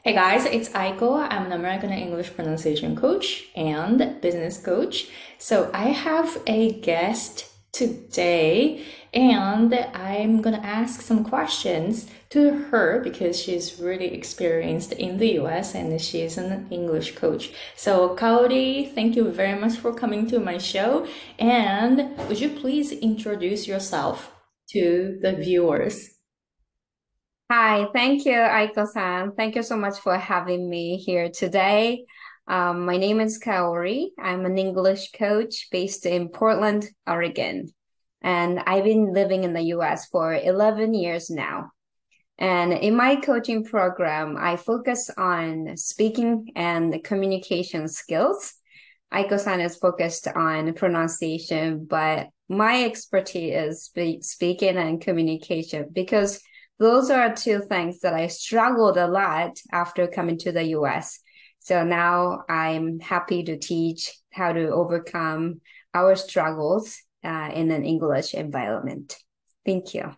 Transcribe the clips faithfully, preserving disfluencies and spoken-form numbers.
Hey guys, it's Aiko. I'm an American English pronunciation coach and business coach. So I have a guest today and I'm gonna ask some questions to her because she's really experienced in the U S and she's an English coach. So Kaori, thank you very much for coming to my show. And would you please introduce yourself to the viewers? Hi, thank you, Aiko-san. Thank you so much for having me here today. Um, my name is Kaori. I'm an English coach based in Portland, Oregon. And I've been living in the U S for eleven years now. And in my coaching program, I focus on speaking and communication skills. Aiko-san is focused on pronunciation, but my expertise is spe speaking and communication because those are two things that I struggled a lot after coming to the U S. So now I'm happy to teach how to overcome our struggles uh, in an English environment. Thank you.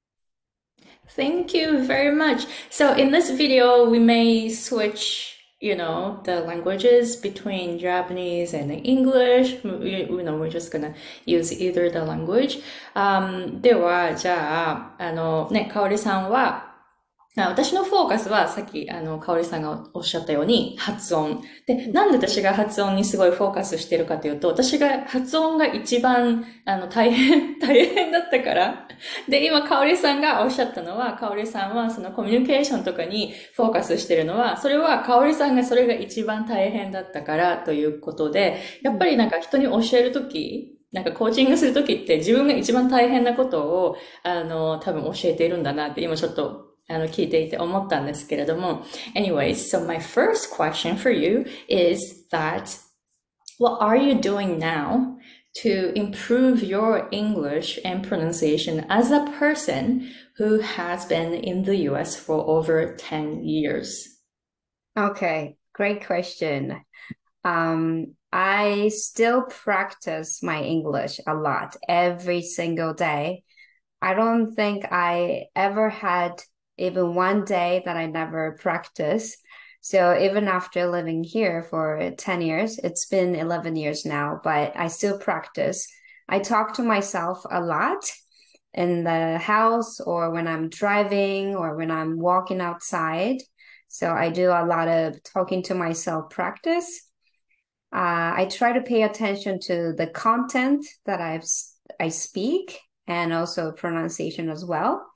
Thank you very much. So in this video, we may switch, you know, the languages between Japanese and English. We, you know, we're just gonna use either the language. Um, では、じゃあ、あの、ね、かおりさんは、あ私のフォーカスはさっき、あの、かおりさんがおっしゃったように発音。で、なんで私が発音にすごいフォーカスしてるかというと、私が発音が一番、あの、大変、大変だったから。で、今、かおりさんがおっしゃったのは、かおりさんはそのコミュニケーションとかにフォーカスしてるのは、それはかおりさんがそれが一番大変だったからということで、やっぱりなんか人に教えるとき、なんかコーチングするときって自分が一番大変なことを、あの、多分教えているんだなって今ちょっとあの、聞いていて思ったんですけれども。Anyways, so my first question for you is that what are you doing now to improve your English and pronunciation as a person who has been in the U S for over ten years? Okay, great question. Um, I still practice my English a lot every single day. I don't think I ever had even one day that I never practiced. So even after living here for ten years, it's been eleven years now, but I still practice. I talk to myself a lot in the house or when I'm driving or when I'm walking outside. So I do a lot of talking to myself practice. Uh, I try to pay attention to the content that I've I speak and also pronunciation as well.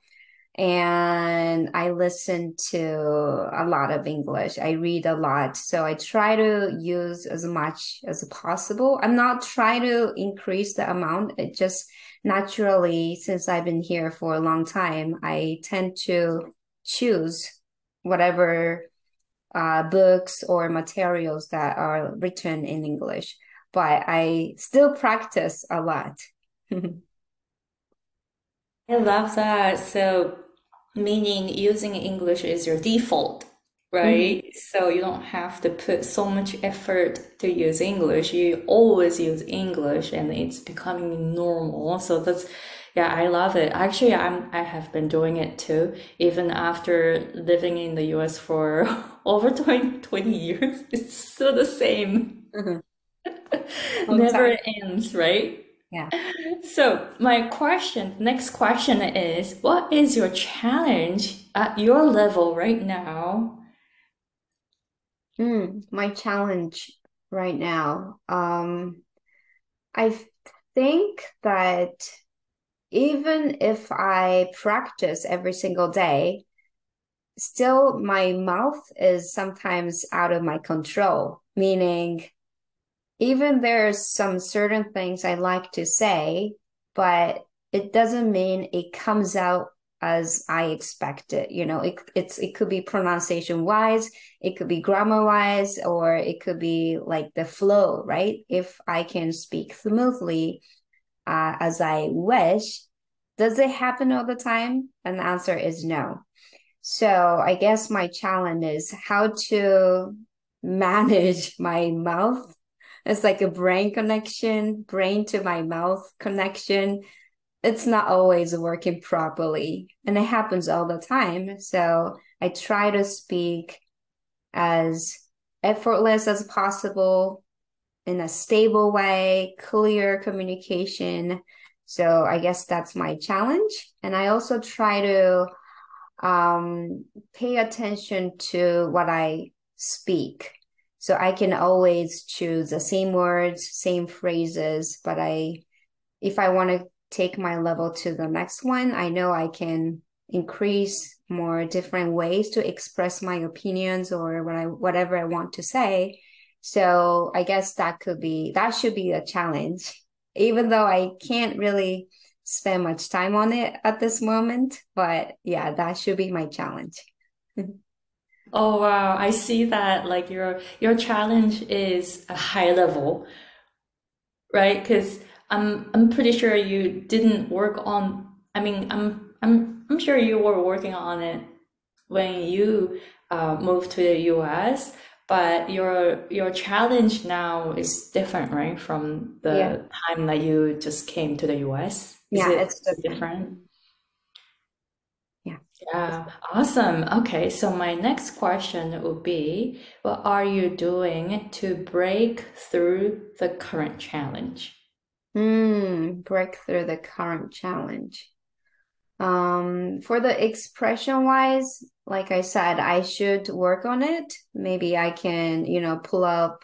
And I listen to a lot of English. I read a lot. So I try to use as much as possible. I'm not trying to increase the amount. It just naturally, since I've been here for a long time, I tend to choose whatever uh, books or materials that are written in English, but I still practice a lot. I love that. So, meaning using English is your default, Mhm. right? So you don't have to put so much effort to use English. You always use English and it's becoming normal. So that's, yeah, I love it. Actually, I'm, I have been doing it too, even after living in the U S for over twenty twenty years. It's still the same. Mhm. Long Never time. ends, right? Yeah. So my question, next question is, what is your challenge at your level right now? Mm, my challenge right now. Um, I think that even if I practice every single day, still my mouth is sometimes out of my control, meaning even there's some certain things I like to say, but it doesn't mean it comes out as I expect it. You know, it it's it could be pronunciation wise, it could be grammar wise, or it could be like the flow, right? If I can speak smoothly uh, as I wish, does it happen all the time? And the answer is no. So I guess my challenge is how to manage my mouth. It's like a brain connection, brain to my mouth connection. It's not always working properly, and it happens all the time. So I try to speak as effortless as possible in a stable way, clear communication. So I guess that's my challenge. And I also try to um, pay attention to what I speak. So I can always choose the same words, same phrases, but I, if I want to take my level to the next one, I know I can increase more different ways to express my opinions or what I, whatever I want to say. So I guess that could be, that should be a challenge, even though I can't really spend much time on it at this moment. But yeah, that should be my challenge. Oh wow, I see that like your your challenge is a high level, right? Because I'm I'm pretty sure you didn't work on, I mean, I'm I'm I'm sure you were working on it when you uh, moved to the U S, but your your challenge now is different, right? From Yeah. the time that you just came to the U S. Is Yeah, it, it's is it different. different? Yeah. Yeah, awesome. Okay, so my next question would be, what are you doing to break through the current challenge? Hmm, break through the current challenge. Um, for the expression wise, like I said, I should work on it. Maybe I can, you know, pull up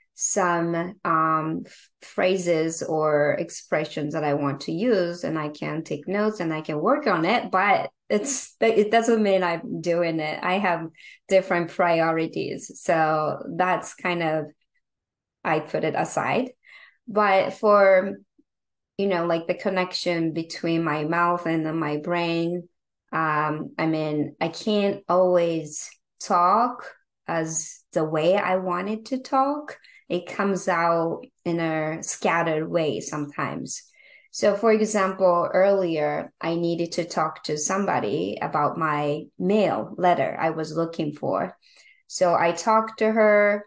some um phrases or expressions that I want to use and I can take notes and I can work on it, but it's it doesn't mean I'm doing it. I have different priorities. So that's kind of I put it aside. But for you know, like the connection between my mouth and then my brain. Um, I mean, I can't always talk as the way I wanted to talk. It comes out in a scattered way sometimes. So, for example, earlier I needed to talk to somebody about my mail letter I was looking for. So I talked to her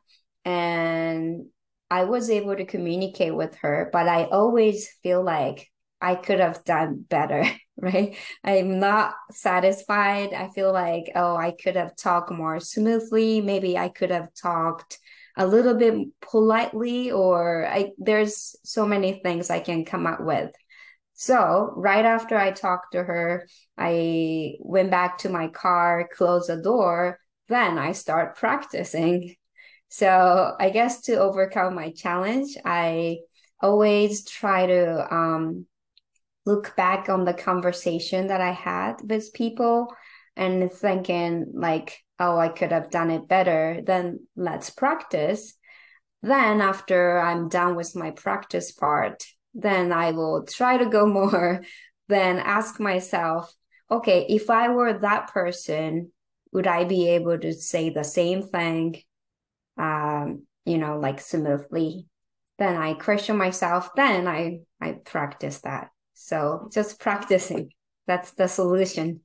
and I was able to communicate with her, but I always feel like I could have done better, right? I'm not satisfied. I feel like, oh, I could have talked more smoothly. Maybe I could have talked a little bit politely, or I there's so many things I can come up with. So, right after I talked to her, I went back to my car, closed the door, then I start practicing. So I guess to overcome my challenge, I always try to um, look back on the conversation that I had with people and thinking like, oh, I could have done it better. Then let's practice. Then after I'm done with my practice part, then I will try to go more, then ask myself, okay, if I were that person, would I be able to say the same thing um, you know, like smoothly. Then I question myself, then I I practice that. So just practicing. That's the solution.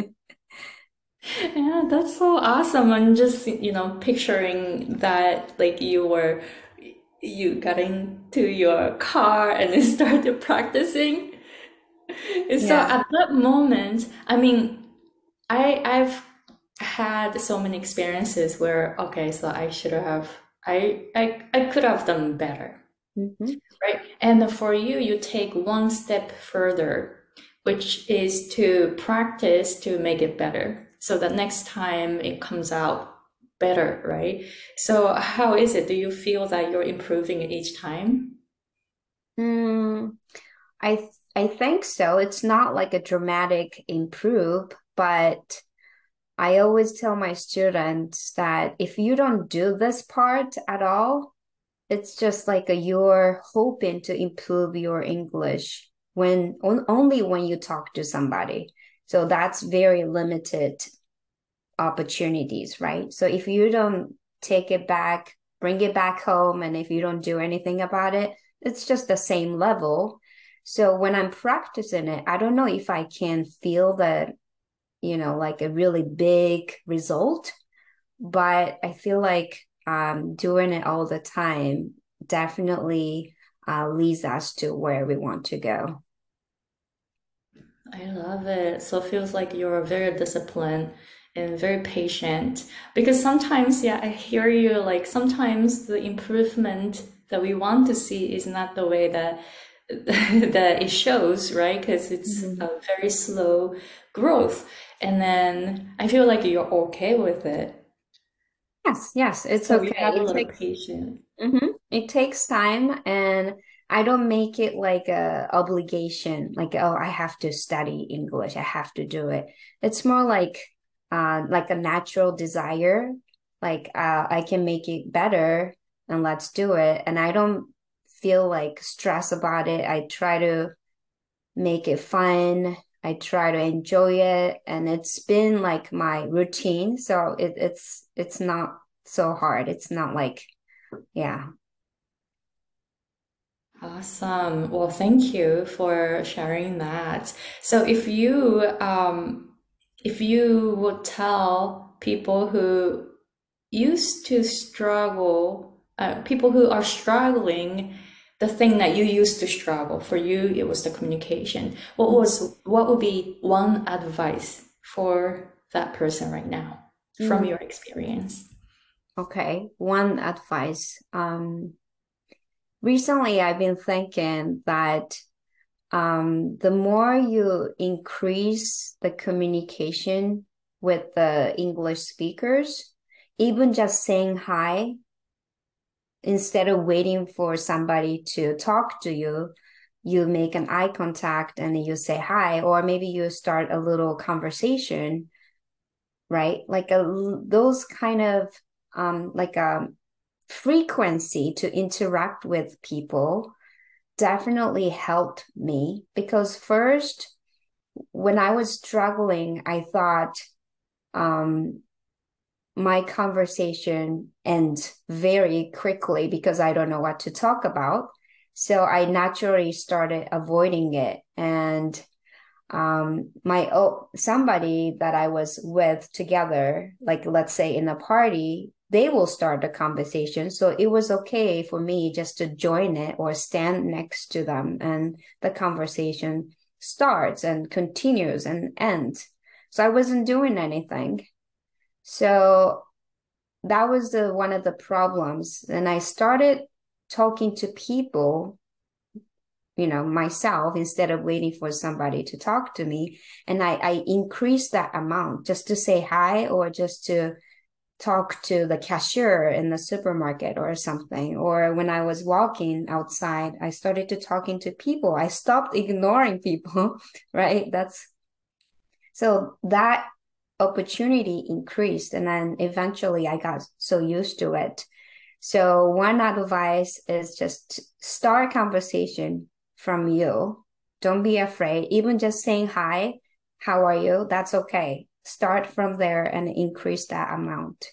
Yeah, that's so awesome. I'm just, you know, picturing that like you were you got into your car and then started practicing. And so Yeah. at that moment, I mean, I I've had so many experiences where okay, so I should have I I I could have done better, Mhm. right? And for you, you take one step further, which is to practice to make it better, so that next time it comes out better, right? So how is it? Do you feel that you're improving each time? Mm, I th I think so. It's not like a dramatic improve, but I always tell my students that if you don't do this part at all, it's just like a, you're hoping to improve your English when on, only when you talk to somebody. So that's very limited opportunities, right? So if you don't take it back, bring it back home, and if you don't do anything about it, it's just the same level. So when I'm practicing it, I don't know if I can feel that, you know, like a really big result, but I feel like um, doing it all the time definitely uh, leads us to where we want to go. I love it. So it feels like you're very disciplined and very patient. Because sometimes, yeah, I hear you, like sometimes the improvement that we want to see is not the way that that it shows, right? Because it's a Mhm. very slow growth. And then I feel like you're okay with it. Yes, yes, it's So you okay. have a It lot of takes patience. hmm It takes time, and I don't make it like a obligation, like, oh, I have to study English, I have to do it. It's more like uh like a natural desire. Like uh I can make it better and let's do it. And I don't feel like stress about it. I try to make it fun. I try to enjoy it, and it's been like my routine. So it, it's it's not so hard. It's not like, yeah. Awesome. Well, thank you for sharing that. So if you um if you would tell people who used to struggle, uh, people who are struggling, the thing that you used to struggle, for you it was the communication. What was what would be one advice for that person right now from Mm, your experience? okay. One advice. Um, recently I've been thinking that um, the more you increase the communication with the English speakers, even just saying hi instead of waiting for somebody to talk to you, you make an eye contact and you say hi, or maybe you start a little conversation, right? Like a those kind of um like a frequency to interact with people definitely helped me because first when I was struggling, I thought um my conversation ends very quickly because I don't know what to talk about. So I naturally started avoiding it. And um, my oh, somebody that I was with together, like let's say in a party, they will start the conversation. So it was okay for me just to join it or stand next to them, and the conversation starts and continues and ends. So I wasn't doing anything. So that was the one of the problems. And I started talking to people, you know, myself instead of waiting for somebody to talk to me. And I, I increased that amount just to say hi or just to talk to the cashier in the supermarket or something. Or when I was walking outside, I started to talking to people. I stopped ignoring people, right? That's so that opportunity increased. And then eventually I got so used to it. So one advice is just start conversation from you. Don't be afraid. Even just saying hi, how are you? That's okay. Start from there and increase that amount.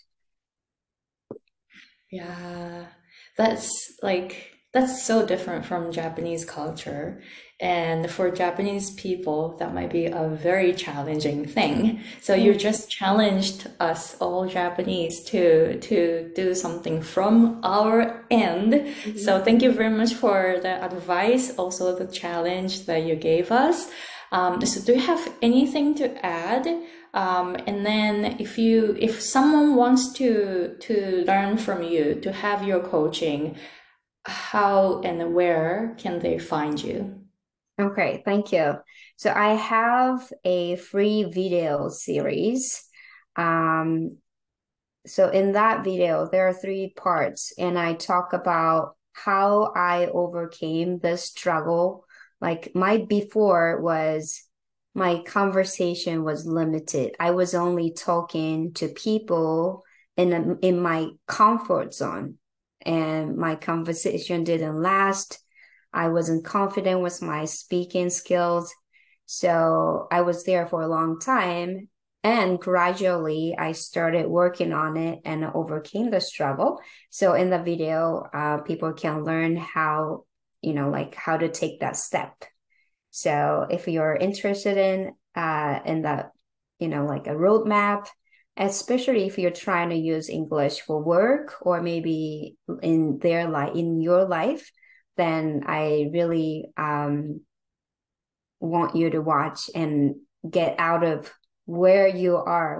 Yeah, that's like that's so different from Japanese culture. And for Japanese people, that might be a very challenging thing. So you Mm. just challenged us all Japanese to to do something from our end. Mhm. So thank you very much for the advice, also the challenge that you gave us. Um, so do you have anything to add? Um, and then if you if someone wants to to learn from you, to have your coaching, how and where can they find you? Okay, thank you. So I have a free video series. Um, So in that video, there are three parts, and I talk about how I overcame this struggle. Like my before was my conversation was limited. I was only talking to people in a, in my comfort zone, and my conversation didn't last. I wasn't confident with my speaking skills. So I was there for a long time, and gradually, I started working on it and overcame the struggle. So in the video, uh, people can learn how, you know, like how to take that step. So if you're interested in uh in that, you know, like a roadmap, especially if you're trying to use English for work or maybe in their life, in your life, then I really um want you to watch and get out of where you are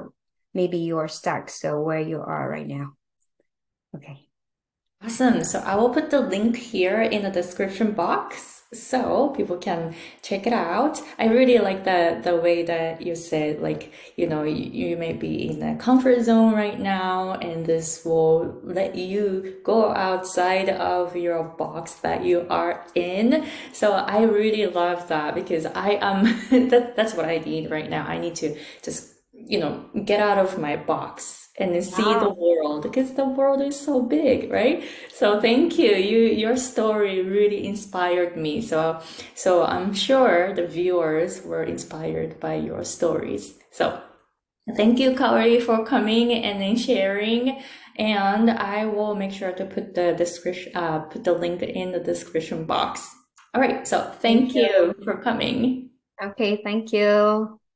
maybe you're stuck. So where you are right now. Okay. Awesome. So I will put the link here in the description box so people can check it out. I really like the the way that you said, like, you know, you, you may be in a comfort zone right now, and this will let you go outside of your box that you are in. So I really love that because I am that that's what I need right now. I need to just, you know, get out of my box and then see the Wow. world because the world is so big, right? So thank you. You your story really inspired me. So so I'm sure the viewers were inspired by your stories. So thank you, Kaori, for coming and then sharing. And I will make sure to put the description uh put the link in the description box. All right, so Thank thank you. you for coming. Okay, thank you.